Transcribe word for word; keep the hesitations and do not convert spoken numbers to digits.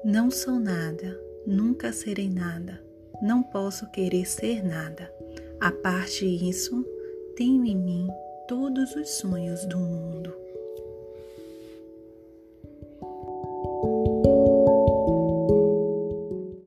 Não sou nada, nunca serei nada, não posso querer ser nada. A parte isso, tenho em mim todos os sonhos do mundo.